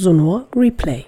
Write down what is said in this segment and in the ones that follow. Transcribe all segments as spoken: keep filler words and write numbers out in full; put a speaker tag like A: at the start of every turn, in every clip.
A: Sonor Replay.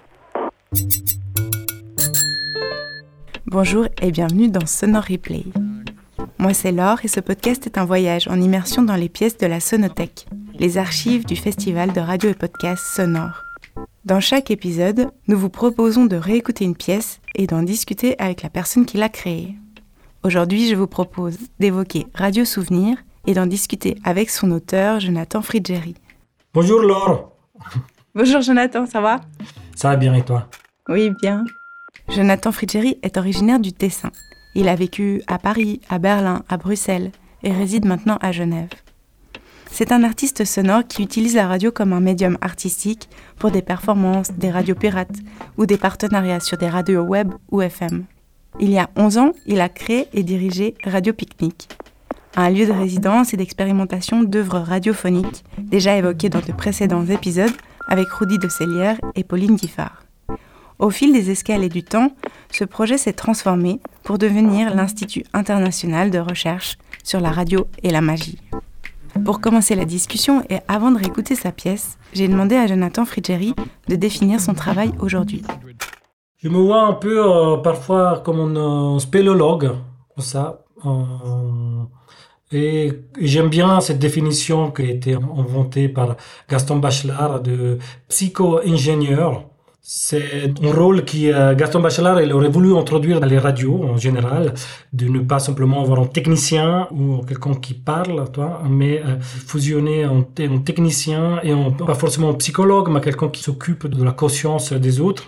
B: Bonjour et bienvenue dans Sonor Replay. Moi c'est Laure et ce podcast est un voyage en immersion dans les pièces de la Sonothèque, les archives du festival de radio et podcast Sonor. Dans chaque épisode, nous vous proposons de réécouter une pièce et d'en discuter avec la personne qui l'a créée. Aujourd'hui, je vous propose d'évoquer Radio Souvenir et d'en discuter avec son auteur, Jonathan Friggeri.
C: Bonjour Laure.
B: Bonjour Jonathan, ça va ?
C: Ça va bien et toi ?
B: Oui, bien. Jonathan Friggeri est originaire du Tessin. Il a vécu à Paris, à Berlin, à Bruxelles et réside maintenant à Genève. C'est un artiste sonore qui utilise la radio comme un médium artistique pour des performances, des radios pirates ou des partenariats sur des radios web ou F M. Il y a onze ans, il a créé et dirigé Radio Picnic, un lieu de résidence et d'expérimentation d'œuvres radiophoniques déjà évoquées dans de précédents épisodes avec Rudy de Sellière et Pauline Diffard. Au fil des escales et du temps, ce projet s'est transformé pour devenir l'Institut international de recherche sur la radio et la magie. Pour commencer la discussion et avant de réécouter sa pièce, j'ai demandé à Jonathan Friggeri de définir son travail aujourd'hui.
C: Je me vois un peu euh, parfois comme un euh, spéléologue, comme ça. Euh, et, et j'aime bien cette définition qui a été inventée par Gaston Bachelard de psycho-ingénieur. C'est un rôle qui euh, Gaston Bachelard il aurait voulu introduire dans les radios en général, de ne pas simplement avoir un technicien ou quelqu'un qui parle, toi, mais euh, fusionner un, un technicien et un, pas forcément un psychologue, mais quelqu'un qui s'occupe de la conscience des autres.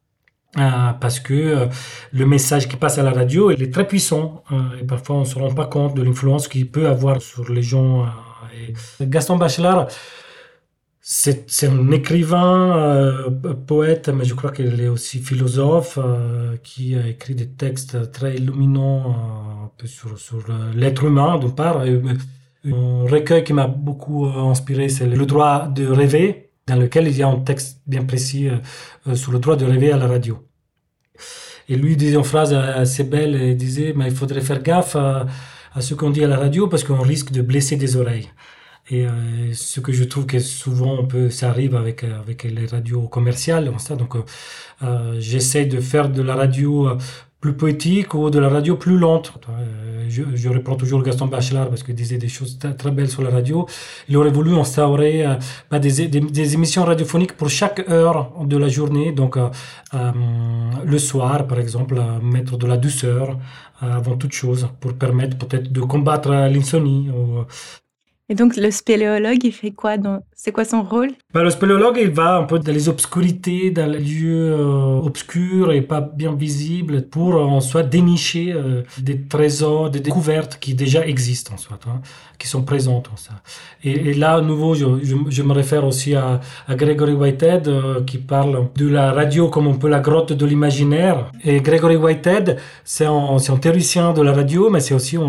C: Euh, parce que euh, le message qui passe à la radio il est très puissant euh, et parfois on ne se rend pas compte de l'influence qu'il peut avoir sur les gens. Euh, et Gaston Bachelard, c'est, c'est un écrivain, euh, poète, mais je crois qu'il est aussi philosophe, euh, qui a écrit des textes très illuminants euh, un peu sur, sur l'être humain d'une part. Et, un recueil qui m'a beaucoup euh, inspiré, c'est Le droit de rêver, dans lequel il y a un texte bien précis euh, sur le droit de rêver à la radio. Et lui disait une phrase assez belle, il disait mais il faudrait faire gaffe à, à ce qu'on dit à la radio parce qu'on risque de blesser des oreilles. Et euh, ce que je trouve que souvent on peut, ça arrive avec, avec les radios commerciales, ça. Donc euh, j'essaie de faire de la radio euh, plus poétique ou de la radio plus lente. Euh, je, je reprends toujours Gaston Bachelard parce qu'il disait des choses très, très belles sur la radio. Il aurait voulu instaurer euh, bah, des, des, des émissions radiophoniques pour chaque heure de la journée. Donc euh, euh, le soir, par exemple, euh, mettre de la douceur euh, avant toute chose pour permettre peut-être de combattre l'insomnie. Ou,
B: Et donc, le spéléologue, il fait quoi dans... C'est quoi son rôle ?
C: Ben, le spéléologue, il va un peu dans les obscurités, dans les lieux euh, obscurs et pas bien visibles pour en soit dénicher euh, des trésors, des découvertes qui déjà existent en soit, hein, qui sont présentes en ça. Et, et là, à nouveau, je, je, je me réfère aussi à, à Gregory Whitehead euh, qui parle de la radio comme un peu la grotte de l'imaginaire. Et Gregory Whitehead, c'est un, c'est un théoricien de la radio, mais c'est aussi un,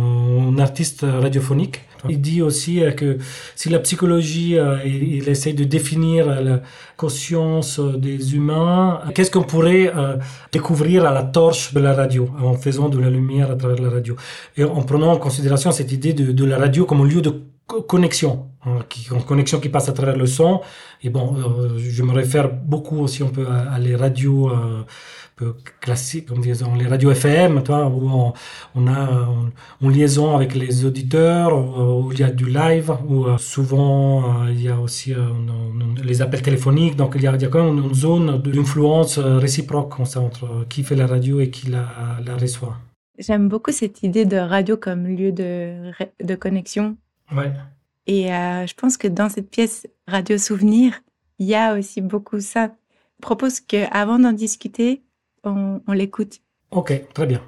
C: un artiste radiophonique. Il dit aussi que si la psychologie, il, il essaie de définir la conscience des humains, qu'est-ce qu'on pourrait découvrir à la torche de la radio, en faisant de la lumière à travers la radio. Et en prenant en considération cette idée de, de la radio comme un lieu de connexion, hein, qui, une connexion qui passe à travers le son. Et bon, euh, je me réfère beaucoup aussi un peu à, à les radios euh, peu classiques, comme disons les radios F M, toi, où on, on a une, une liaison avec les auditeurs, où, où il y a du live, où euh, souvent euh, il y a aussi euh, une, une, les appels téléphoniques. Donc il y a, il y a quand même une, une zone d'influence réciproque comme ça, entre qui fait la radio et qui la, la reçoit.
B: J'aime beaucoup cette idée de radio comme lieu de, de connexion.
C: Ouais.
B: Et euh, je pense que dans cette pièce Radio Souvenir, il y a aussi beaucoup ça. Je propose qu'avant d'en discuter, on, on l'écoute.
C: Ok, très bien.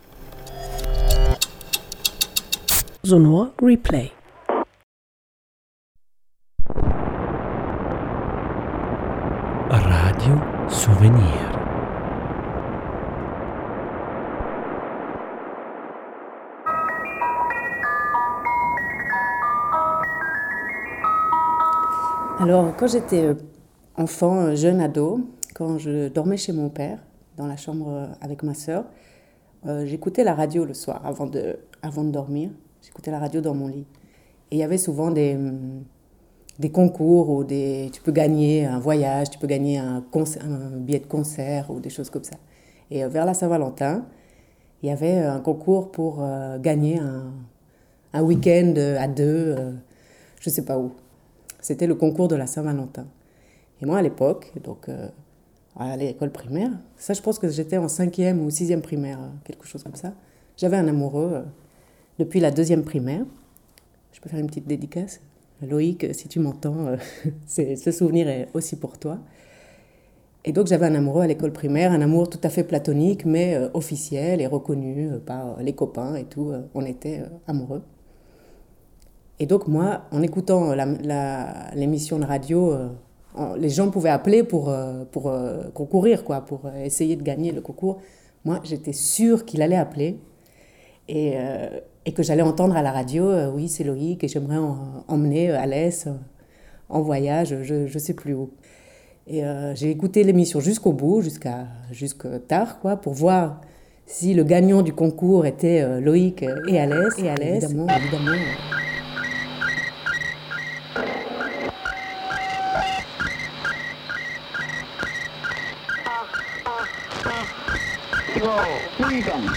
A: Sonor Replay. Radio Souvenir.
D: Alors, quand j'étais enfant, jeune ado, quand je dormais chez mon père, dans la chambre avec ma sœur, euh, j'écoutais la radio le soir avant de, avant de dormir. J'écoutais la radio dans mon lit. Et il y avait souvent des, des concours où des, tu peux gagner un voyage, tu peux gagner un, concert, un billet de concert ou des choses comme ça. Et vers la Saint-Valentin, il y avait un concours pour euh, gagner un, un week-end à deux, euh, je ne sais pas où. C'était le concours de la Saint-Valentin. Et moi, à l'époque, donc euh, à l'école primaire, ça, je pense que j'étais en cinquième ou sixième primaire, quelque chose comme ça. J'avais un amoureux euh, depuis la deuxième primaire. Je peux faire une petite dédicace. Loïc, si tu m'entends, euh, c'est, ce souvenir est aussi pour toi. Et donc j'avais un amoureux à l'école primaire, un amour tout à fait platonique, mais euh, officiel et reconnu euh, par les copains et tout. Euh, on était euh, amoureux. Et donc moi, en écoutant la, la, l'émission de radio, euh, les gens pouvaient appeler pour, euh, pour euh, concourir, quoi, pour euh, essayer de gagner le concours. Moi, j'étais sûre qu'il allait appeler. Et, euh, et que j'allais entendre à la radio, euh, oui, c'est Loïc, et j'aimerais en, emmener Alès euh, en voyage, je ne sais plus où. Et euh, j'ai écouté l'émission jusqu'au bout, jusqu'à, jusqu'à tard, quoi, pour voir si le gagnant du concours était euh, Loïc et Alès. Et Alès, évidemment, évidemment.
E: Freedom.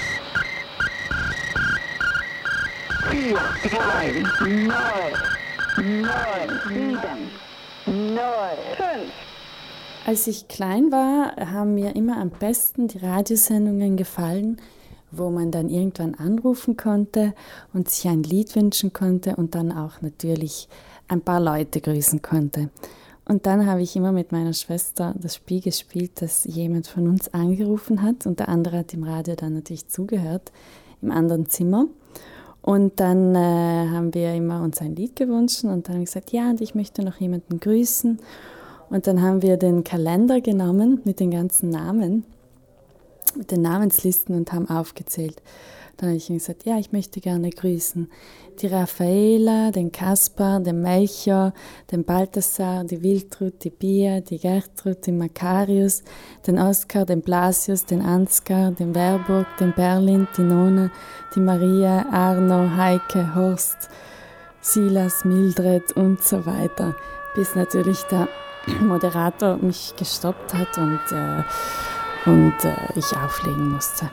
E: Vier, drei, null, null, sieben, null, fünf.
F: Als ich klein war, haben mir immer am besten die Radiosendungen gefallen, wo man dann irgendwann anrufen konnte und sich ein Lied wünschen konnte und dann auch natürlich ein paar Leute grüßen konnte. Und dann habe ich immer mit meiner Schwester das Spiel gespielt, dass jemand von uns angerufen hat und der andere hat im Radio dann natürlich zugehört, im anderen Zimmer. Und dann äh, haben wir immer uns ein Lied gewünscht und dann haben wir gesagt, ja, und ich möchte noch jemanden grüßen. Und dann haben wir den Kalender genommen mit den ganzen Namen, mit den Namenslisten und haben aufgezählt. Dann habe ich ihm gesagt, ja, ich möchte gerne grüßen die Raffaela, den Kaspar, den Melchior, den Balthasar, die Wiltrud, die Pia, die Gertrud, den Makarius, den Oskar, den Blasius, den Ansgar, den Werburg, den Berlin, die Nona, die Maria, Arno, Heike, Horst, Silas, Mildred und so weiter. Bis natürlich der Moderator mich gestoppt hat und, äh, und äh, ich auflegen musste.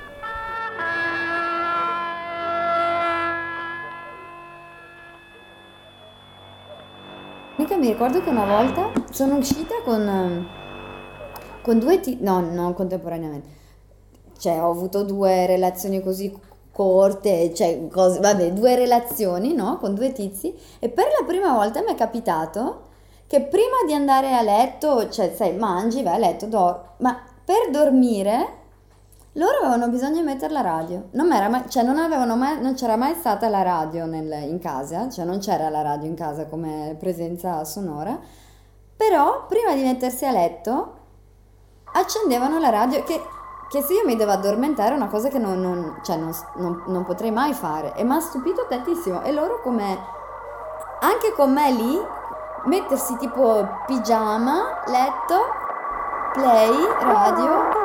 G: Mica mi ricordo che una volta sono uscita con, con due tizi, no, non contemporaneamente, cioè ho avuto due relazioni così corte, cioè cose, vabbè, due relazioni, no, con due tizi, e per la prima volta mi è capitato che prima di andare a letto, cioè sai, mangi, vai a letto, dormi, ma per dormire loro avevano bisogno di mettere la radio, non, era mai, cioè non, avevano mai, non c'era mai stata la radio nel, in casa, cioè non c'era la radio in casa come presenza sonora, però prima di mettersi a letto accendevano la radio, che, che se io mi devo addormentare è una cosa che non, non, cioè non, non, non potrei mai fare, e mi ha stupito tantissimo, e loro come, anche con me lì, mettersi tipo pigiama, letto, play, radio.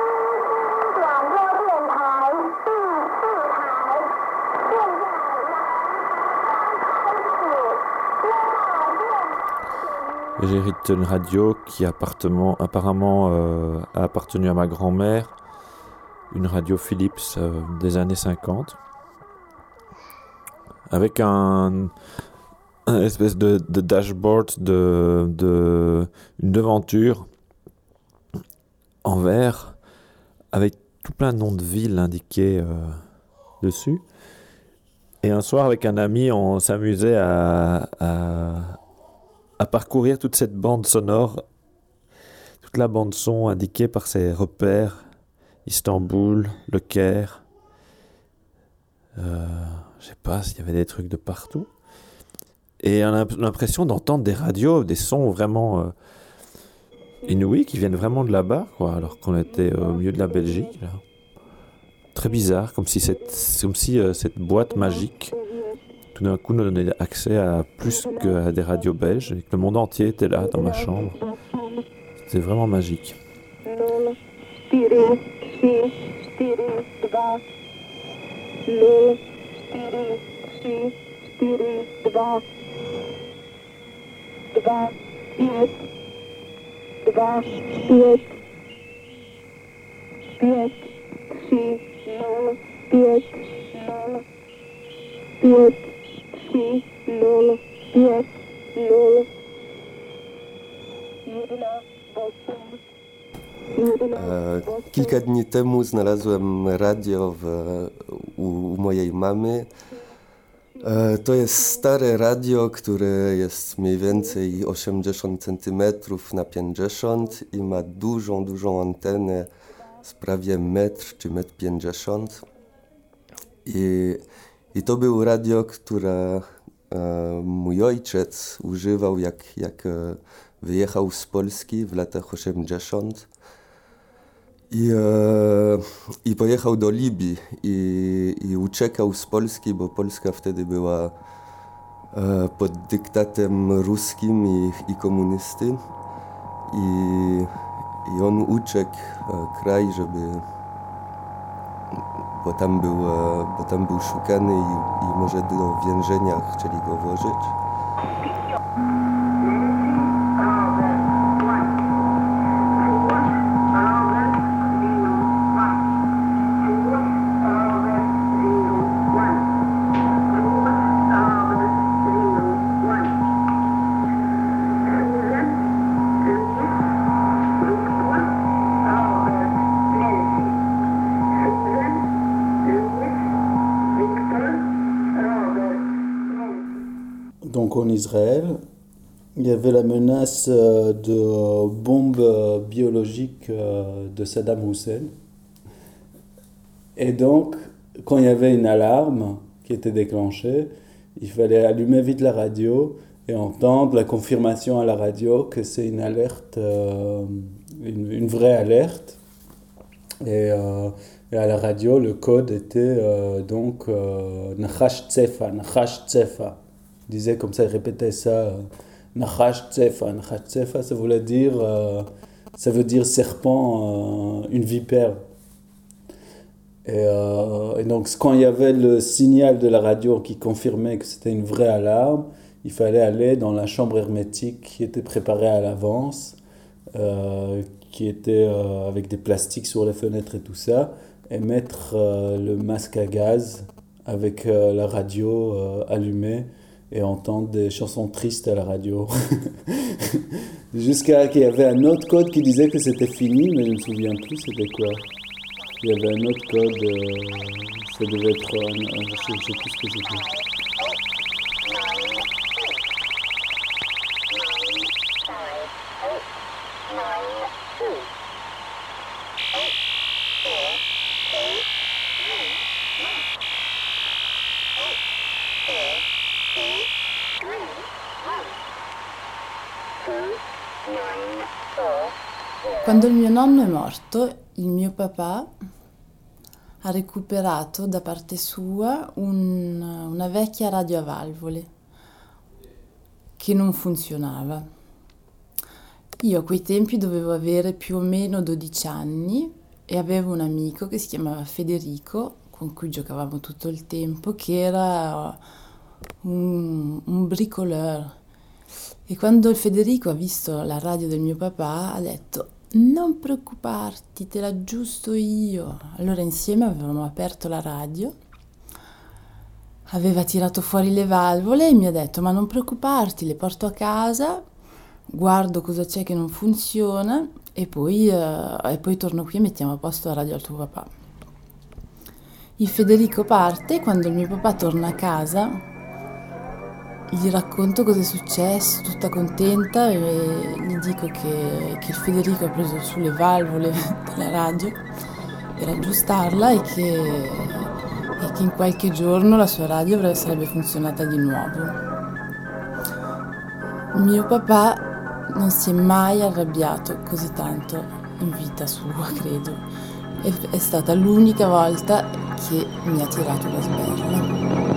H: J'ai hérité d'une radio qui appartement, apparemment euh, a appartenu à ma grand-mère, une radio Philips euh, des années cinquante, avec un, un espèce de, de dashboard, de, de, une devanture en verre, avec tout plein de noms de villes indiqués euh, dessus. Et un soir, avec un ami, on s'amusait à... à à parcourir toute cette bande sonore, toute la bande son indiquée par ces repères, Istanbul, Le Caire, euh, je sais pas s'il y avait des trucs de partout, et on a l'impression d'entendre des radios, des sons vraiment euh, inouïs qui viennent vraiment de là-bas, quoi, alors qu'on était au milieu de la Belgique, là. Très bizarre, comme si cette, comme si euh, cette boîte magique tout d'un coup nous donnait accès à plus qu'à des radios belges et que le monde entier était là dans ma chambre. C'était vraiment magique.
E: Два, пять, два, пять, пять, три, ноль, пять, ноль, пять, три, ноль, пять, ноль. Jedna, osiem.
I: E, Kilka dni temu znalazłem radio w, u, u mojej mamy. E, To jest stare radio, które jest mniej więcej osiemdziesiąt centymetrów na pięćdziesiąt i ma dużą, dużą antenę z prawie metr czy metr pięćdziesiąt. I, I to było radio, które e, mój ojciec używał, jak, jak e, wyjechał z Polski w latach osiemdziesiątych. I, e, I pojechał do Libii i, i uciekał z Polski, bo Polska wtedy była e, pod dyktatem ruskim i, i komunisty. I, I on uciekł e, kraj, żeby, bo tam był, e, bo tam był szukany i, i może do więzienia chcieli go włożyć.
J: Donc en Israël, il y avait la menace de bombes biologiques de Saddam Hussein. Et donc, quand il y avait une alarme qui était déclenchée, il fallait allumer vite la radio et entendre la confirmation à la radio que c'est une alerte, euh, une, une vraie alerte. Et, euh, et à la radio, le code était euh, donc euh, Nachash Tsefa, Nachash Tsefa. Il disait comme ça, il répétait ça, euh, Nachash Tsefa, Nachash Tsefa, ça voulait dire, euh, ça veut dire serpent, euh, une vipère. Et, euh, et donc quand il y avait le signal de la radio qui confirmait que c'était une vraie alarme, il fallait aller dans la chambre hermétique qui était préparée à l'avance, euh, qui était euh, avec des plastiques sur les fenêtres et tout ça, et mettre euh, le masque à gaz avec euh, la radio euh, allumée et entendre des chansons tristes à la radio. Jusqu'à qu'il y avait un autre code qui disait que c'était fini, mais je ne me souviens plus c'était quoi. Il y avait un autre code, euh, ça devait être, euh, je ne sais, sais plus ce que c'était.
F: Quando il mio nonno è morto, il mio papà ha recuperato da parte sua un, una vecchia radio a valvole che non funzionava. Io a quei tempi dovevo avere più o meno dodici anni e avevo un amico che si chiamava Federico, con cui giocavamo tutto il tempo, che era un, un bricoleur. E quando il Federico ha visto la radio del mio papà ha detto: non preoccuparti, te l'aggiusto io. Allora insieme avevamo aperto la radio, aveva tirato fuori le valvole e mi ha detto: ma non preoccuparti, le porto a casa, guardo cosa c'è che non funziona e poi, uh, e poi torno qui e mettiamo a posto la radio al tuo papà. Il Federico parte e quando il mio papà torna a casa gli racconto cosa è successo, tutta contenta, e gli dico che, che il Federico ha preso su le valvole della radio per aggiustarla e che, e che in qualche giorno la sua radio sarebbe funzionata di nuovo. Mio papà non si è mai arrabbiato così tanto in vita sua, credo. È, è stata l'unica volta che mi ha tirato la sberla.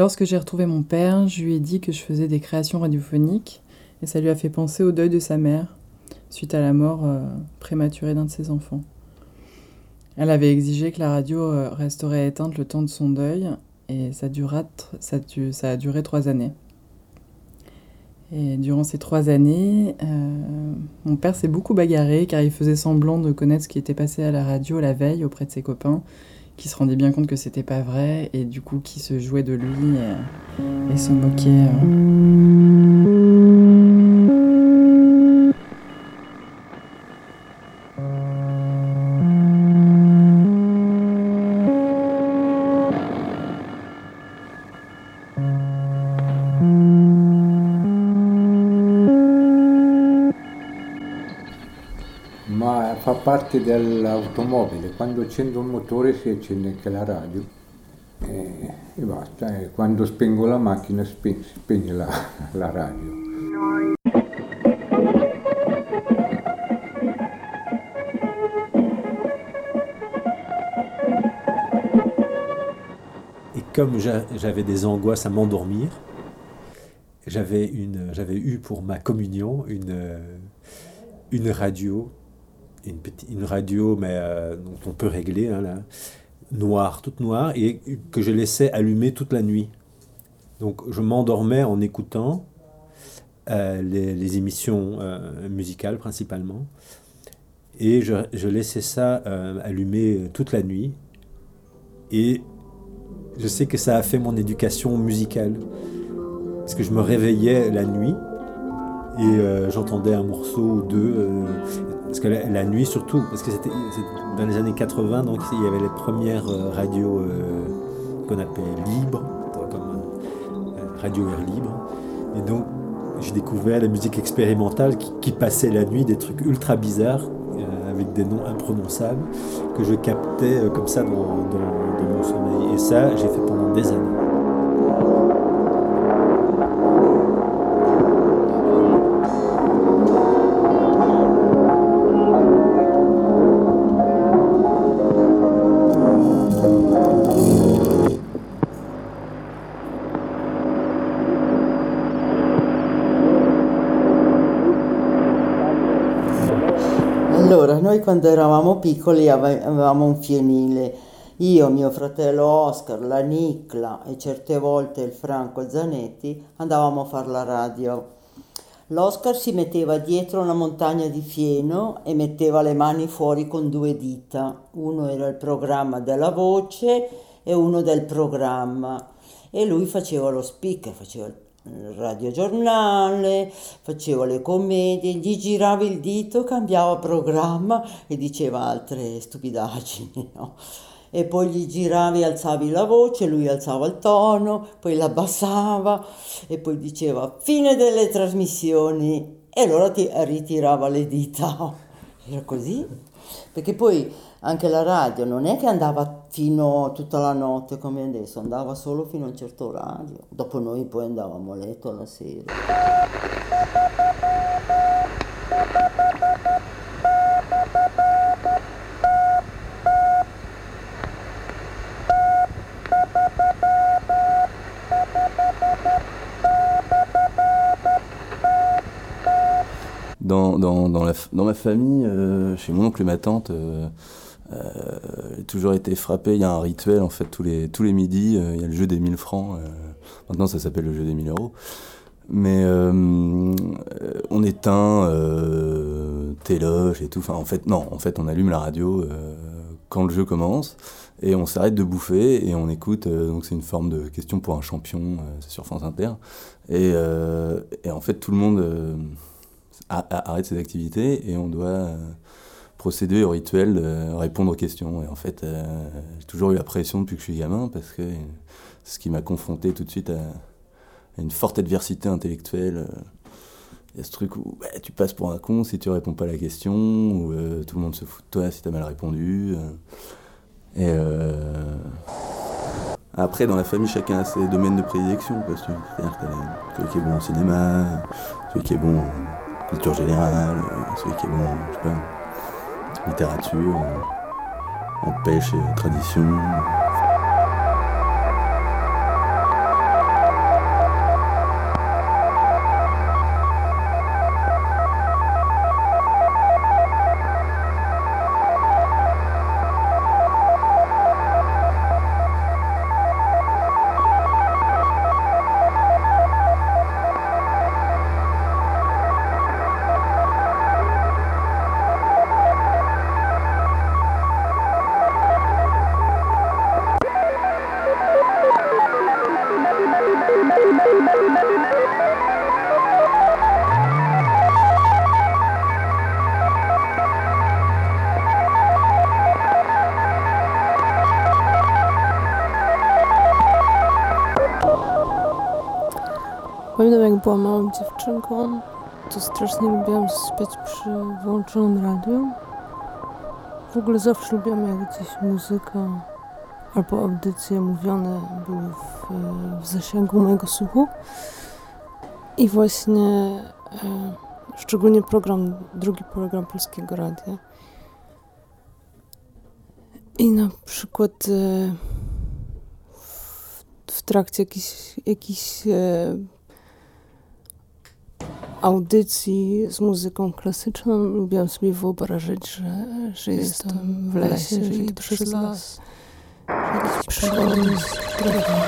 K: lorsque j'ai retrouvé mon père, je lui ai dit que je faisais des créations radiophoniques et ça lui a fait penser au deuil de sa mère suite à la mort euh, prématurée d'un de ses enfants. Elle avait exigé que la radio euh, resterait éteinte le temps de son deuil et ça, dura, ça, ça a duré trois années. Et durant ces trois années, euh, mon père s'est beaucoup bagarré car il faisait semblant de connaître ce qui était passé à la radio la veille auprès de ses copains, qui se rendaient bien compte que c'était pas vrai et du coup qui se jouaient de lui et, et se moquaient. Euh.
L: Ma fa parte dell'automobile, quando accendo il motore si accende anche la radio e, e basta, e quando spengo la macchina spe- si spegne la, la radio.
M: Et comme j'a- j'avais des angoisses à m'endormir, j'avais, une, j'avais eu pour ma communion une, une radio. Une, petite, une radio mais euh, dont on peut régler, hein, là, noire, toute noire, et que je laissais allumer toute la nuit. Donc je m'endormais en écoutant euh, les, les émissions euh, musicales principalement, et je, je laissais ça euh, allumer toute la nuit. Et je sais que ça a fait mon éducation musicale, parce que je me réveillais la nuit et euh, j'entendais un morceau ou deux. Euh, Parce que la, la nuit surtout, parce que c'était, c'était dans les années quatre-vingts, donc il y avait les premières euh, radios euh, qu'on appelait libres, comme euh, radio air libre. Et donc j'ai découvert la musique expérimentale qui, qui passait la nuit, des trucs ultra bizarres, euh, avec des noms imprononçables, que je captais euh, comme ça dans, dans, dans mon sommeil. Et ça, j'ai fait pendant des années.
N: Allora, noi quando eravamo piccoli ave- avevamo un fienile, io, mio fratello Oscar, la Nicla e certe volte il Franco Zanetti andavamo a fare la radio. L'Oscar si metteva dietro una montagna di fieno e metteva le mani fuori con due dita, uno era il programma della voce e uno del programma, e lui faceva lo speaker, faceva il il radiogiornale, faceva le commedie, gli girava il dito, cambiava programma e diceva altre stupidaggini, no? E poi gli giravi, alzavi la voce, lui alzava il tono, poi l'abbassava e poi diceva fine delle trasmissioni e allora ti ritirava le dita. Era così, perché poi anche la radio non è che andava fino tutta la notte come adesso, andava solo fino a un certo orario. Dopo noi poi andavamo a letto alla sera.
O: Dans, dans, dans, la, dans ma famille, euh, chez mon oncle et ma tante, euh, euh, j'ai toujours été frappé. Il y a un rituel, en fait, tous les, tous les midis, euh, il y a le jeu des mille francs. Euh, maintenant, ça s'appelle le jeu des mille euros. Mais euh, on éteint euh, téloge et tout. Enfin, en fait, non, en fait, on allume la radio euh, quand le jeu commence et on s'arrête de bouffer et on écoute. Euh, donc, c'est une forme de question pour un champion, euh, c'est sur France Inter. Et, euh, et en fait, tout le monde euh, a, a, arrête ses activités et on doit euh, procéder au rituel de répondre aux questions. Et en fait, euh, j'ai toujours eu la pression depuis que je suis gamin parce que c'est ce qui m'a confronté tout de suite à une forte adversité intellectuelle. Il y a ce truc où bah, tu passes pour un con si tu réponds pas à la question, où euh, tout le monde se fout de toi si tu as mal répondu. Et euh... après, dans la famille, chacun a ses domaines de prédilection. C'est-à-dire que t'as celui qui est bon au cinéma, celui qui est bon en culture générale, celui qui est bon, je sais pas, en littérature, en pêche et tradition.
P: byłam małą dziewczynką, to strasznie lubiłam śpiać przy włączonym radiu. W ogóle zawsze lubiłam, jak gdzieś muzyka albo audycje mówione były w, w zasięgu mojego słuchu. I właśnie e, szczególnie program, drugi program Polskiego Radia. I na przykład e, w, w trakcie jakichś, jakichś e, audycji z muzyką klasyczną lubiłam sobie wyobrażać, że, że jestem w lesie, że idę przez las, że jakieś przygody z drogą.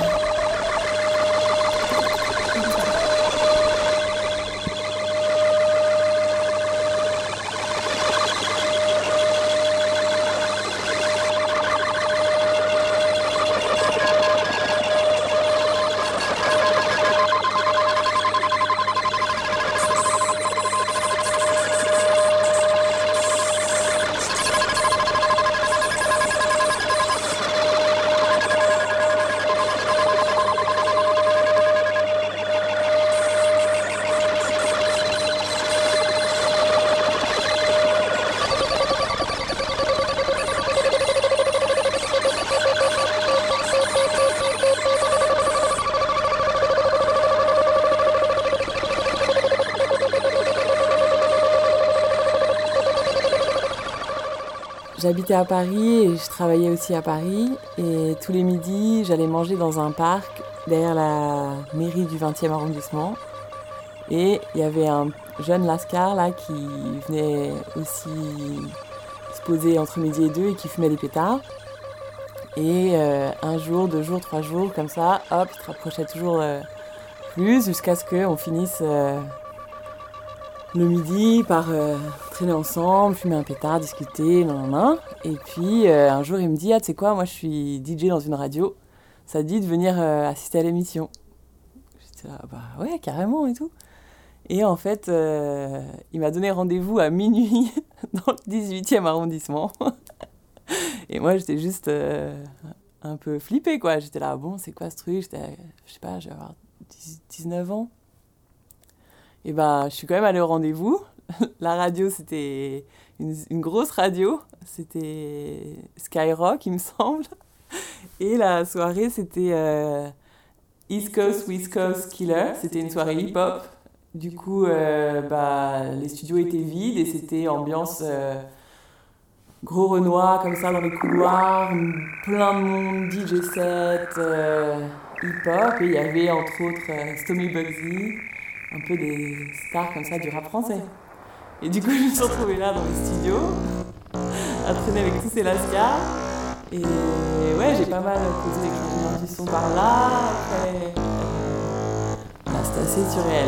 Q: J'habitais à Paris et je travaillais aussi à Paris. Et tous les midis, j'allais manger dans un parc derrière la mairie du vingtième arrondissement. Et il y avait un jeune lascar là qui venait aussi se poser entre midi et deux et qui fumait des pétards. Et euh, un jour, deux jours, trois jours, comme ça, hop, il se rapprochait toujours euh, plus jusqu'à ce qu'on finisse euh, le midi par euh, traîner ensemble, fumer un pétard, discuter, nan, nan, nan. Et puis euh, un jour il me dit « Ah, tu sais quoi, moi je suis D J dans une radio, ça te dit de venir euh, assister à l'émission ?» J'étais là « Bah ouais, carrément et tout ». Et en fait, euh, il m'a donné rendez-vous à minuit dans le dix-huitième arrondissement. Et moi j'étais juste euh, un peu flippée quoi, j'étais là « Bon, c'est quoi ce truc ?» J'étais, je sais pas, je vais avoir dix-neuf ans. Et ben, je suis quand même allée au rendez-vous. La radio, c'était une, une grosse radio. C'était Skyrock, il me semble. Et la soirée, c'était euh, East Coast, West Coast Killer. C'était une soirée hip-hop. Du coup, euh, bah, les studios étaient vides et c'était ambiance euh, gros Renoir, comme ça, dans les couloirs. Plein de monde, D J set, euh, hip-hop. Et il y avait, entre autres, euh, Stomy Bugsy. Un peu des stars comme ça du rap français. Et du coup, je me suis retrouvée là dans le studio, à traîner avec tous ces lascars. Et ouais, j'ai pas mal posé des changements du son par là. Après, là, c'était assez surréel.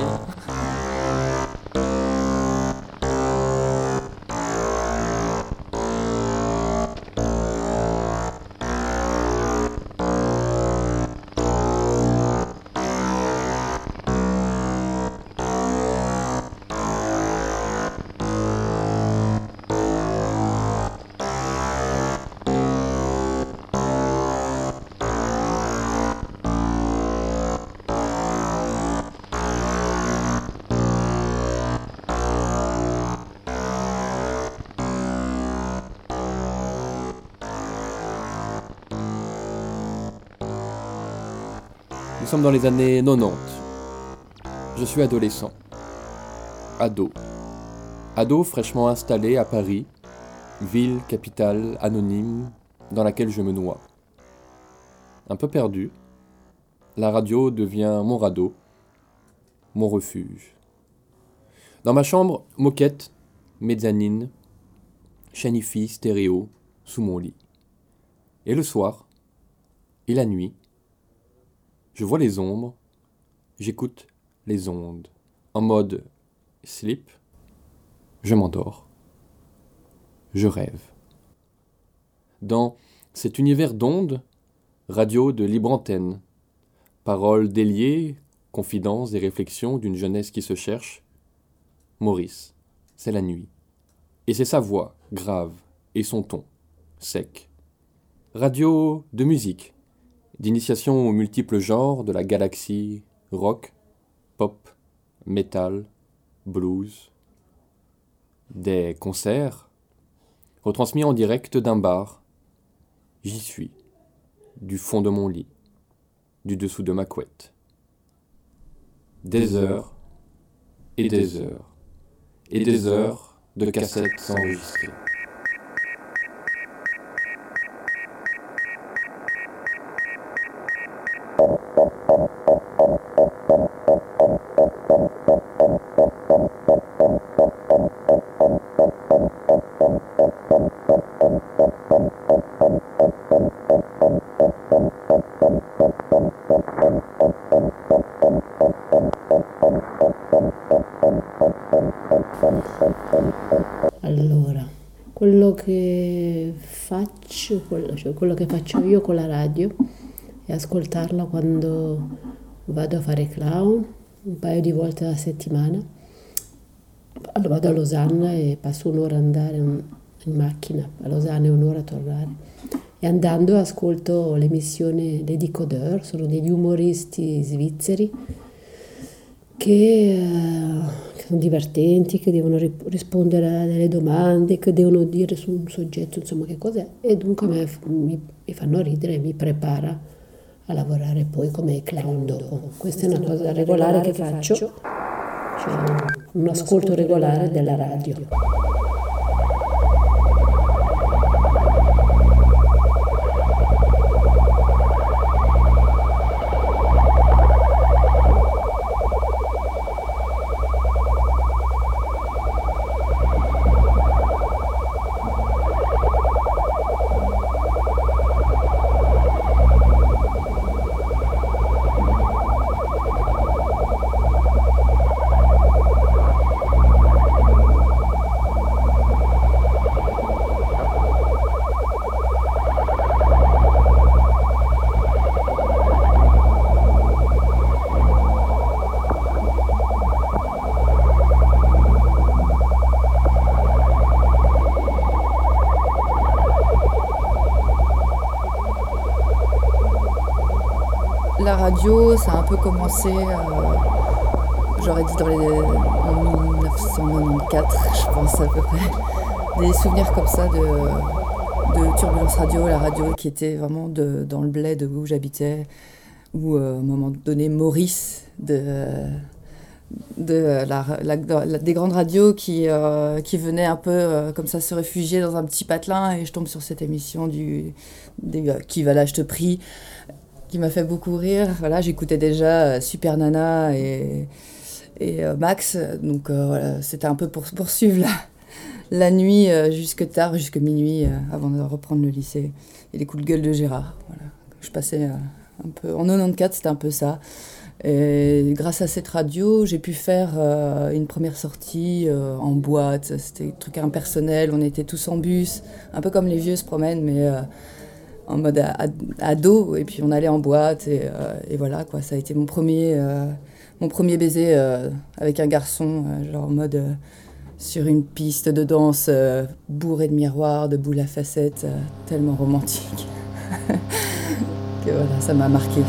R: Nous sommes dans les années quatre-vingt-dix. Je suis adolescent. Ado. Ado fraîchement installé à Paris, ville, capitale, anonyme, dans laquelle je me noie. Un peu perdu, la radio devient mon radeau, mon refuge. Dans ma chambre, moquette, mezzanine, chaîne hi-fi, stéréo, sous mon lit. Et le soir, et la nuit, je vois les ombres, j'écoute les ondes. En mode sleep, je m'endors. Je rêve. Dans cet univers d'ondes, radio de libre antenne, paroles déliées, confidences et réflexions d'une jeunesse qui se cherche, Maurice, c'est la nuit. Et c'est sa voix, grave, et son ton, sec. Radio de musique, d'initiation aux multiples genres de la galaxie rock, pop, métal, blues, des concerts retransmis en direct d'un bar. J'y suis, du fond de mon lit, du dessous de ma couette. Des heures et des heures et des heures de cassettes enregistrées.
S: Allora, quello che faccio, quello, cioè quello che faccio io con la radio è ascoltarla quando vado a fare clown un paio di volte alla settimana. Allora, vado a Losanna e passo un'ora ad andare in macchina a Losanna e un'ora a tornare. E andando ascolto l'emissione Les Décodeurs, sono degli umoristi svizzeri che, eh, che sono divertenti, che devono ri- rispondere a delle domande, che devono dire su un soggetto, insomma, che cos'è, e dunque me, mi, mi fanno ridere e mi prepara a lavorare poi come clown dopo. Questa è una cosa regolare che faccio, cioè un ascolto regolare della radio.
T: La radio, ça a un peu commencé, euh, j'aurais dit dans les, en dix-neuf cent quatre-vingt-quatorze, je pense à peu près. Des souvenirs comme ça de, de Turbulence Radio, la radio qui était vraiment de, dans le bled où j'habitais, où euh, à un moment donné Maurice de, de la, la, la, des grandes radios qui, euh, qui venaient un peu euh, comme ça se réfugier dans un petit patelin, et je tombe sur cette émission du, des, euh, qui va là je te prie, qui m'a fait beaucoup rire. Voilà, j'écoutais déjà Super Nana et, et euh, Max, donc euh, voilà, c'était un peu pour poursuivre la, la nuit euh, jusque tard, jusque minuit, euh, avant de reprendre le lycée. Et les coups de gueule de Gérard. Voilà. Je passais euh, un peu... En quatre-vingt-quatorze, c'était un peu ça. Et grâce à cette radio, j'ai pu faire euh, une première sortie euh, en boîte. C'était un truc impersonnel, on était tous en bus, un peu comme les vieux se promènent, mais... Euh, en mode ado, et puis on allait en boîte, et, euh, et voilà, quoi. Ça a été mon premier, euh, mon premier baiser euh, avec un garçon, euh, genre en mode euh, sur une piste de danse euh, bourrée de miroirs, de boules à facettes, euh, tellement romantique. Que voilà, ça m'a marqué.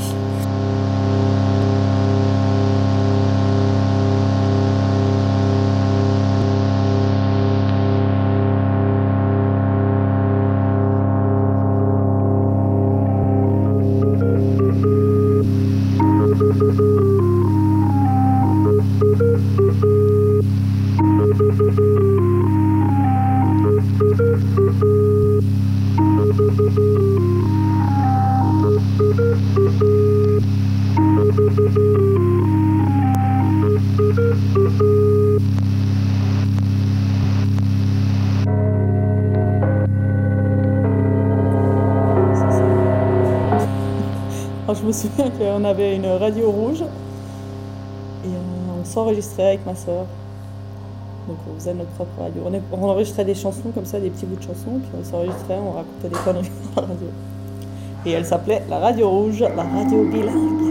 U: Alors, je me souviens qu'on avait une radio rouge et on s'enregistrait avec ma soeur. Donc on faisait notre propre radio. On, est, on enregistrait des chansons comme ça, des petits bouts de chansons, puis on s'enregistrait, on racontait des conneries dans la radio. Et elle s'appelait la Radio Rouge, la radio bilingue.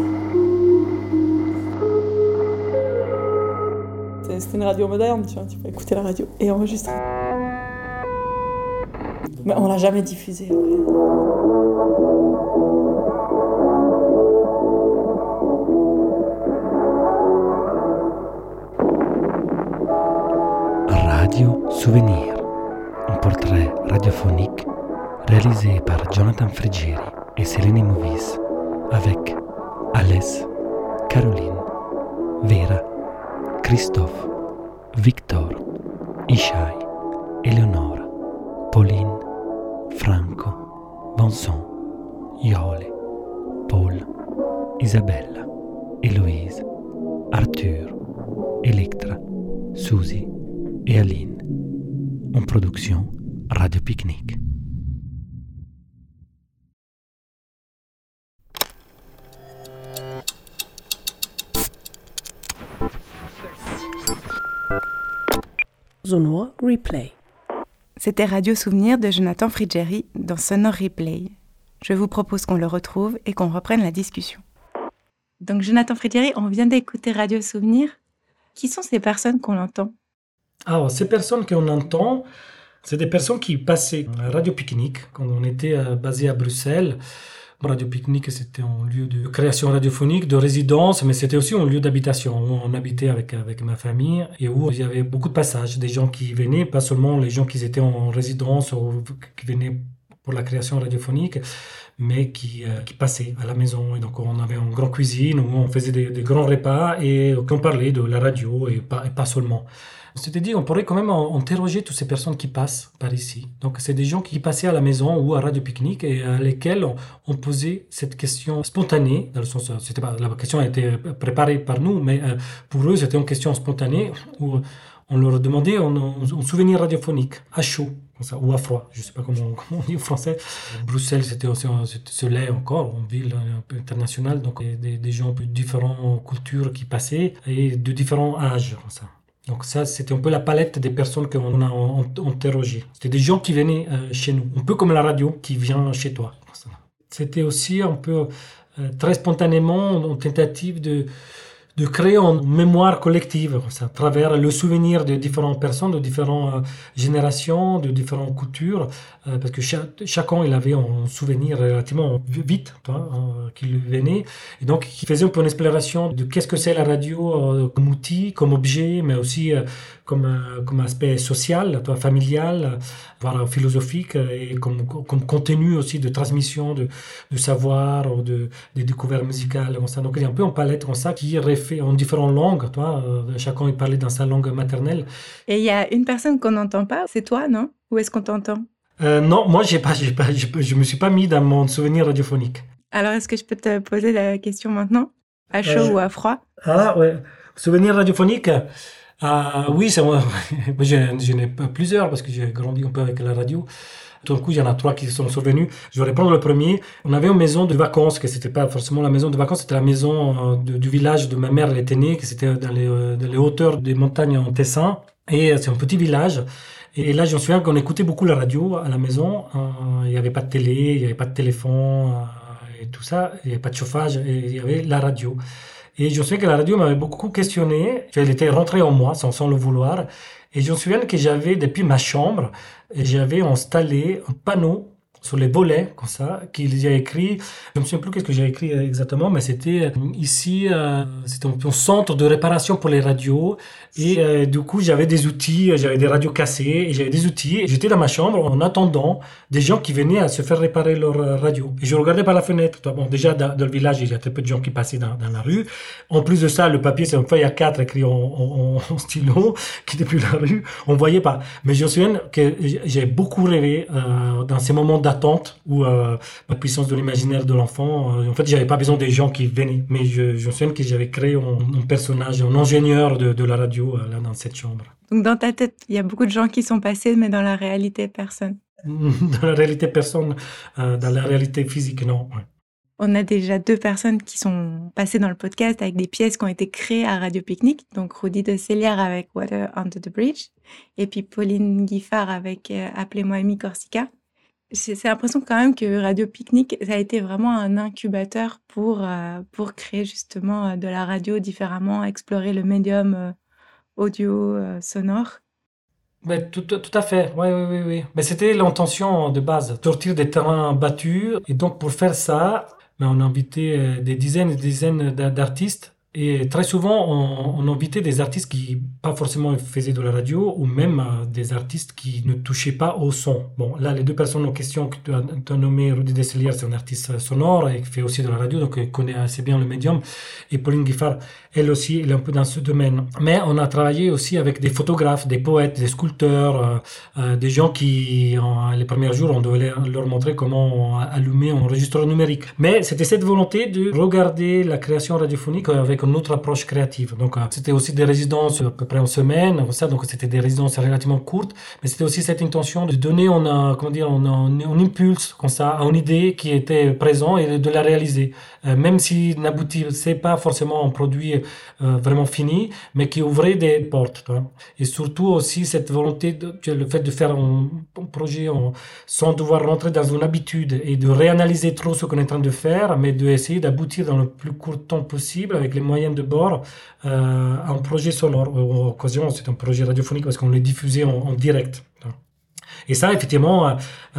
U: C'était une radio moderne, tu vois, tu peux écouter la radio et enregistrer. Mais on l'a jamais diffusée.
A: Souvenir, un portrait radiophonique réalisé par Jonathan Frigieri et Céline Movis avec Alès, Caroline, Vera, Christophe, Victor, Ishai, Eleonora, Pauline, Franco, Vincent, Iole, Paul, Isabella, Héloïse, Arthur, Electra, Suzy et Aline. En production Radio Picnic. Sonore Replay.
B: C'était Radio Souvenir de Jonathan Frigieri dans Sonore Replay. Je vous propose qu'on le retrouve et qu'on reprenne la discussion. Donc Jonathan Frigieri, on vient d'écouter Radio Souvenir. Qui sont ces personnes qu'on entend ?
C: Alors, ces personnes qu'on entend, c'est des personnes qui passaient à Radio Picnic quand on était euh, basé à Bruxelles. Radio Picnic, c'était un lieu de création radiophonique, de résidence, mais c'était aussi un lieu d'habitation où on habitait avec, avec ma famille et où il y avait beaucoup de passages, des gens qui venaient, pas seulement les gens qui étaient en résidence ou qui venaient pour la création radiophonique, mais qui, euh, qui passaient à la maison. Et donc on avait une grande cuisine où on faisait des, des grands repas et on parlait de la radio et pas, et pas seulement. C'est-à-dire, on pourrait quand même interroger toutes ces personnes qui passent par ici. Donc, c'est des gens qui passaient à la maison ou à Radio Picnic et à lesquels on, on posait cette question spontanée, dans le sens, c'était pas, la question a été préparée par nous, mais euh, pour eux, c'était une question spontanée où on leur demandait un, un souvenir radiophonique à chaud, comme ça, ou à froid, je ne sais pas comment, comment on dit en français. Bruxelles, c'était aussi ce lait encore, une ville un peu internationale, donc des, des gens de différentes cultures qui passaient et de différents âges, comme ça. Donc ça, c'était un peu la palette des personnes qu'on a interrogées. C'était des gens qui venaient euh, chez nous, un peu comme la radio qui vient chez toi. C'était aussi un peu, euh, très spontanément, une tentative de, de créer une mémoire collective, ça, à travers le souvenir de différentes personnes, de différentes euh, générations, de différentes cultures, euh, parce que chaque, chacun il avait un souvenir relativement vite toi, euh, qui lui venait, et donc qui faisait un peu une exploration de qu'est-ce que c'est la radio euh, comme outil, comme objet, mais aussi euh, comme, euh, comme aspect social, toi, familial, voire philosophique, et comme, comme contenu aussi de transmission de, de savoir, ou de, de découvertes musicales, comme ça. Donc il y a un peu une palette comme ça qui refait en différentes langues, toi, euh, chacun il parlait dans sa langue maternelle.
B: Et il y a une personne qu'on n'entend pas, c'est toi, non ? Ou est-ce qu'on t'entend ?
C: Euh, non, moi, j'ai pas, j'ai pas, je ne me suis pas mis dans mon souvenir radiophonique.
B: Alors, est-ce que je peux te poser la question maintenant ? À chaud euh, ou à froid ?
C: Ah, ouais. Souvenir radiophonique ah, oui, c'est moi. J'en ai plusieurs parce que j'ai grandi un peu avec la radio. Tout d'un coup, il y en a trois qui sont survenus. Je vais répondre le premier. On avait une maison de vacances, que c'était pas forcément la maison de vacances, c'était la maison de, du village de ma mère, elle était née, que c'était dans les, dans les hauteurs des montagnes en Tessin. Et c'est un petit village. Et là, je me souviens qu'on écoutait beaucoup la radio à la maison. Il n'y avait pas de télé, il n'y avait pas de téléphone et tout ça. Il n'y avait pas de chauffage, et il y avait la radio. Et je me souviens que la radio m'avait beaucoup questionné. Elle était rentrée en moi sans, sans le vouloir. Et je me souviens que j'avais, depuis ma chambre, j'avais installé un panneau sur les volets, comme ça, qu'il y a écrit, je ne me souviens plus qu'est-ce que j'ai écrit exactement, mais c'était ici, euh, c'était un, un centre de réparation pour les radios, et euh, du coup, j'avais des outils, j'avais des radios cassées, et j'avais des outils, et j'étais dans ma chambre en attendant des gens qui venaient à se faire réparer leur radio. Et je regardais par la fenêtre. Bon, déjà, dans, dans le village, il y a très peu de gens qui passaient dans, dans la rue. En plus de ça, le papier, c'est une feuille A quatre écrit en, en, en stylo, qui depuis la rue, on ne voyait pas. Mais je me souviens que j'ai beaucoup rêvé euh, dans ces moments d'attente où euh, la puissance de l'imaginaire de l'enfant, euh, en fait, j'avais pas besoin des gens qui venaient, mais je, je me souviens que j'avais créé un, un personnage, un ingénieur de, de la radio euh, là dans cette chambre.
B: Donc dans ta tête, il y a beaucoup de gens qui sont passés, mais dans la réalité, personne.
C: Dans la réalité, personne. Euh, dans la réalité physique, non. Ouais.
B: On a déjà deux personnes qui sont passées dans le podcast avec des pièces qui ont été créées à Radio Picnic. Donc Rudy de Célière avec Water Under the Bridge et puis Pauline Guiffard avec euh, Appelez-moi Amy Corsica. J'ai, j'ai l'impression quand même que Radio Picnic, ça a été vraiment un incubateur pour, euh, pour créer justement de la radio différemment, explorer le médium euh, audio euh, sonore.
C: Mais tout, tout, tout à fait, oui, oui, oui, oui. Mais c'était l'intention de base, sortir des terrains battus. Et donc pour faire ça, on a invité des dizaines et des dizaines d'artistes. Et très souvent, on, on invitait des artistes qui pas forcément faisaient de la radio, ou même euh, des artistes qui ne touchaient pas au son. Bon, là, les deux personnes en question que tu as, tu as nommé, Rudy Desselier, c'est un artiste sonore et qui fait aussi de la radio, donc il connaît assez bien le médium. Et Pauline Guiffard, elle aussi, elle est un peu dans ce domaine. Mais on a travaillé aussi avec des photographes, des poètes, des sculpteurs, euh, euh, des gens qui, en, les premiers jours, on devait leur montrer comment allumer un enregistreur numérique. Mais c'était cette volonté de regarder la création radiophonique avec une autre approche créative. Donc, euh, c'était aussi des résidences à peu près en semaine, ça, donc c'était des résidences relativement courtes, mais c'était aussi cette intention de donner un, euh, comment dire, un, un, un impulse comme ça à une idée qui était présente et de la réaliser. Euh, même s'il n'aboutissait pas forcément en produit euh, vraiment fini, mais qui ouvrait des portes. Tu vois. Et surtout aussi cette volonté, de, le fait de faire un, un projet en, sans devoir rentrer dans une habitude et de réanalyser trop ce qu'on est en train de faire, mais d'essayer d'aboutir dans le plus court temps possible avec les moyens de bord euh, à un projet sonore. En occasion, c'est un projet radiophonique parce qu'on le diffusait en, en direct. Et ça, effectivement, euh,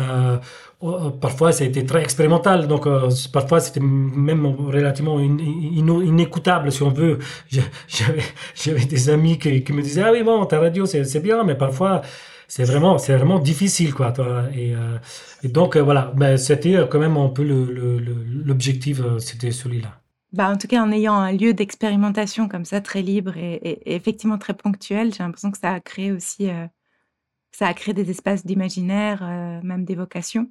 C: euh, parfois, ça a été très expérimental. Donc, euh, parfois, c'était même relativement in, in, inécoutable, si on veut. J'avais, j'avais des amis qui, qui me disaient « Ah oui, bon, ta radio, c'est, c'est bien, mais parfois, c'est vraiment, c'est vraiment difficile, quoi. » Et, euh, et donc, euh, voilà, ben, c'était quand même un peu le, le, le, l'objectif, c'était celui-là.
B: Bah, en tout cas, en ayant un lieu d'expérimentation comme ça, très libre et, et, et effectivement très ponctuel, j'ai l'impression que ça a créé aussi... Euh, ça a créé des espaces d'imaginaire, euh, même d'évocation.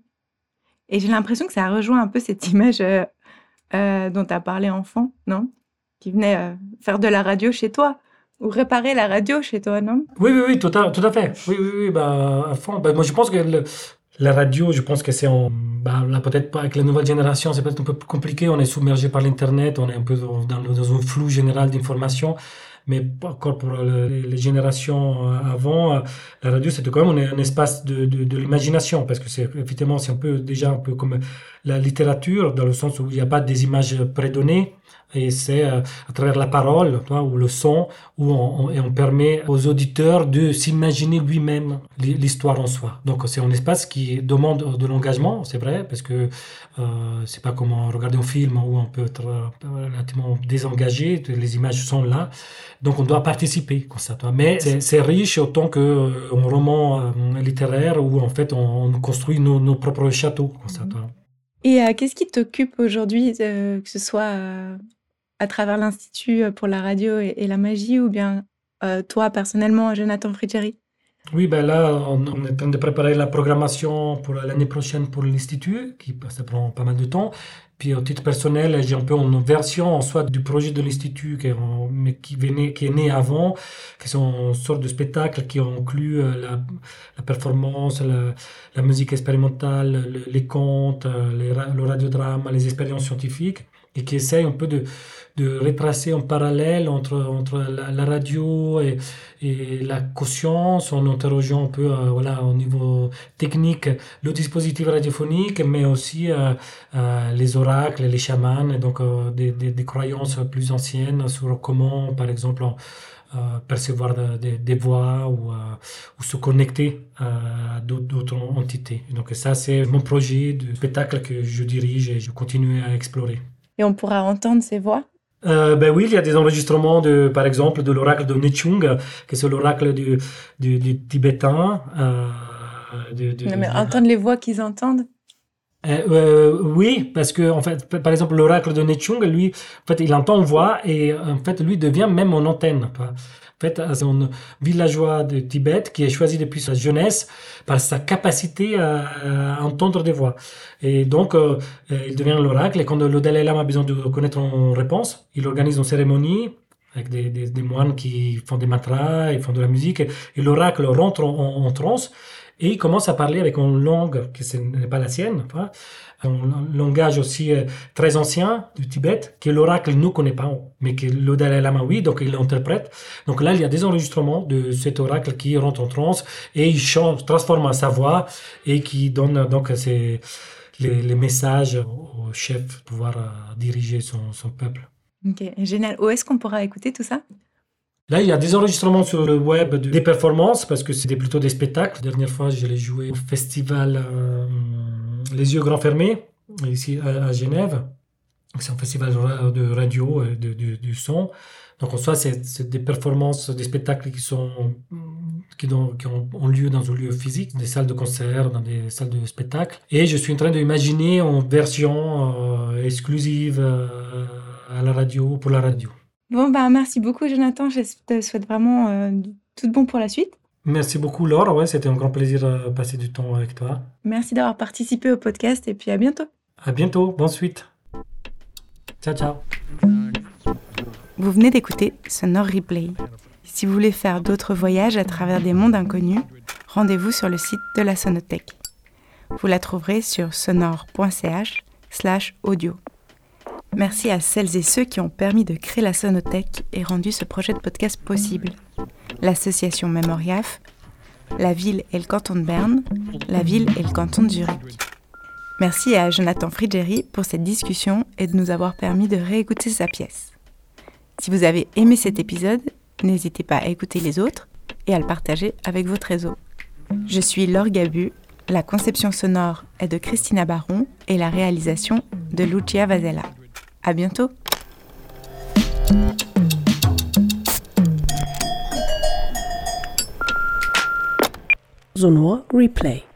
B: Et j'ai l'impression que ça rejoint un peu cette image euh, euh, dont tu as parlé enfant, non ? Qui venait euh, faire de la radio chez toi, ou réparer la radio chez toi, non ?
C: Oui, oui, oui, tout à, tout à fait. Oui, oui, oui, bah, à fond. Bah, moi, je pense que le, la radio, je pense que c'est en... Bah, là, peut-être pas avec la nouvelle génération, c'est peut-être un peu plus compliqué. On est submergé par l'Internet, on est un peu dans, dans, dans un flou général d'informations. Mais encore pour le, les générations avant, la radio c'était quand même un, un espace de, de, de l'imagination, parce que c'est effectivement c'est un peu déjà un peu comme la littérature, dans le sens où il n'y a pas des images prédonnées, et c'est euh, à travers la parole, tu vois, ou le son, où on, on, et on permet aux auditeurs de s'imaginer lui-même l'histoire en soi. Donc c'est un espace qui demande de l'engagement, c'est vrai, parce que euh, c'est pas comme regarder un film où on peut être relativement désengagé, les images sont là, donc on doit participer comme ça. Toi. Mais c'est, c'est riche autant qu'un euh, roman euh, littéraire où en fait on, on construit nos, nos propres châteaux comme ça. Toi.
B: Et euh, qu'est-ce qui t'occupe aujourd'hui, euh, que ce soit euh, à travers l'Institut pour la radio et, et la magie, ou bien euh, toi personnellement, Jonathan Frigeri ?
C: Oui, ben là, on, on est en train de préparer la programmation pour l'année prochaine pour l'Institut, qui ça prend pas mal de temps. Puis au titre personnel, j'ai un peu une version soit du projet de l'Institut, qui est, mais qui, venait, qui est né avant, qui sont une sorte de spectacle qui inclut la, la performance, la, la musique expérimentale, le, les contes, les, le radiodrame, les expériences scientifiques, et qui essaye un peu de, de retracer un parallèle entre, entre la, la radio et, et la conscience, en interrogeant un peu euh, voilà, au niveau technique le dispositif radiophonique, mais aussi euh, euh, les oracles, les chamans, et donc euh, des, des, des croyances plus anciennes sur comment, par exemple, euh, percevoir de, de, des voix ou, euh, ou se connecter à d'autres, d'autres entités. Donc ça, c'est mon projet de spectacle que je dirige et je continue à explorer.
B: Et on pourra entendre ces voix ?
C: Euh, ben oui, il y a des enregistrements, de, par exemple, de l'oracle de Nechung, qui c'est l'oracle du, du, du tibétain. Euh, de, de,
B: non, mais entendre les voix qu'ils entendent ?
C: Euh, euh, oui, parce que en fait, par exemple, l'oracle de Nechung, lui, en fait, il entend une voix et en fait, lui devient même une antenne. En fait, c'est un villageois de Tibet qui est choisi depuis sa jeunesse par sa capacité à, à entendre des voix. Et donc, euh, il devient l'oracle. Et quand le Dalai Lama a besoin de connaître une réponse, il organise une cérémonie avec des, des, des moines qui font des mantras, ils font de la musique. Et, et l'oracle rentre en, en, en transe et il commence à parler avec une langue qui n'est pas la sienne, hein, un langage aussi euh, très ancien du Tibet, que l'oracle ne connaît pas, mais que le Dalai Lama, oui, donc il l'interprète. Donc là, il y a des enregistrements de cet oracle qui rentre en transe et il chante, transforme sa voix et qui donne donc ces, les, les messages au chef pour pouvoir euh, diriger son, son peuple.
B: Ok, génial. Où est-ce qu'on pourra écouter tout ça ?
C: Là, il y a des enregistrements sur le web, de, des performances, parce que c'est plutôt des spectacles. La dernière fois, je l'ai joué au festival euh, Les Yeux Grands Fermés, ici à, à Genève. C'est un festival de radio et de, de, du son. Donc en soi, c'est, c'est des performances, des spectacles qui, sont, qui, ont, qui ont, ont lieu dans un lieu physique, des salles de concert, dans des salles de spectacle. Et je suis en train d'imaginer en version euh, exclusive euh, à la radio, pour la radio.
B: Bon, bah, merci beaucoup, Jonathan. Je te souhaite vraiment euh, tout de bon pour la suite.
C: Merci beaucoup, Laure. Ouais, c'était un grand plaisir de passer du temps avec toi.
B: Merci d'avoir participé au podcast et puis à bientôt.
C: À bientôt. Bonne suite. Ciao, ciao.
B: Vous venez d'écouter Sonore Replay. Si vous voulez faire d'autres voyages à travers des mondes inconnus, rendez-vous sur le site de la Sonothèque. Vous la trouverez sur sonore.ch slash audio. Merci à celles et ceux qui ont permis de créer la Sonothèque et rendu ce projet de podcast possible. L'association Memoriaf, la ville et le canton de Berne, la ville et le canton de Zurich. Merci à Jonathan Frigeri pour cette discussion et de nous avoir permis de réécouter sa pièce. Si vous avez aimé cet épisode, n'hésitez pas à écouter les autres et à le partager avec votre réseau. Je suis Laure Gabu, la conception sonore est de Christina Baron et la réalisation de Lucia Vasella. À bientôt.
A: Sonore Replay.